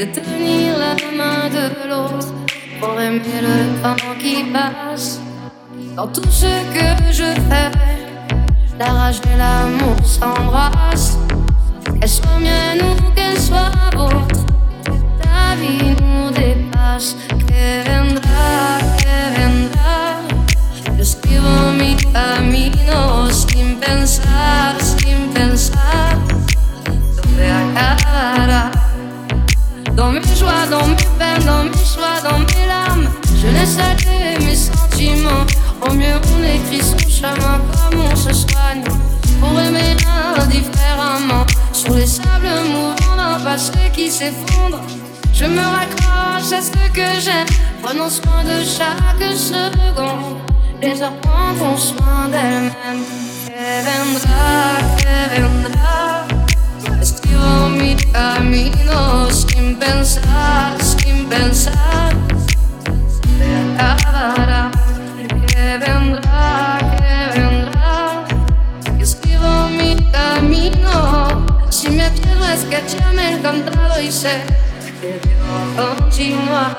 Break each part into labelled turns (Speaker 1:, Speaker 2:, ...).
Speaker 1: de tenir la main de l'autre pour aimer le temps qui passe. Dans tout ce que je fais, la rage et l'amour s'embrassent. Qu'elle soit mienne ou qu'elle soit vôtre, la vie nous dépasse. Que vendrá, yo escribo mi camino sin pensar, dónde acabará. Dans mes joies, dans mes peines, dans mes choix, dans mes larmes, je laisse aller mes sentiments. Au mieux on écrit son chemin comme on se soigne, pour aimer indifféremment. Sur les sables mouvants d'un passé qui s'effondre, je me raccroche à ce que j'aime. Prenons soin de chaque seconde, les heures prendront soin d'elles-mêmes. Que vendrá, escribo mi camino sin pensar, se acabará. Que vendrá, escribo mi camino. Si me pierdo es que ya me he encontrado y sé que debo continuar.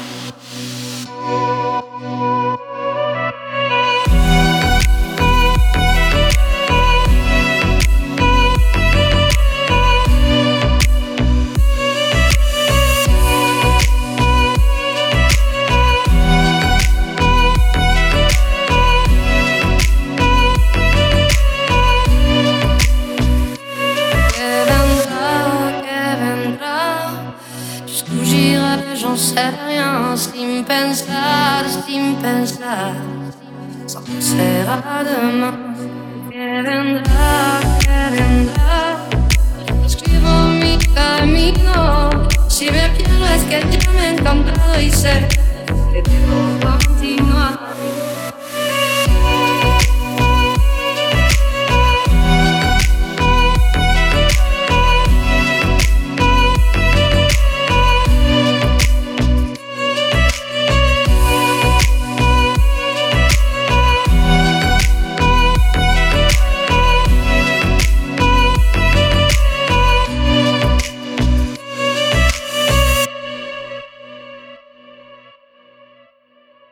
Speaker 1: J'en sais rien, sin pensar, sans penser à demain. Que vendrá, escribo mi camino. Si me pierdo es que ya me he encontrado y sé que debo continuar.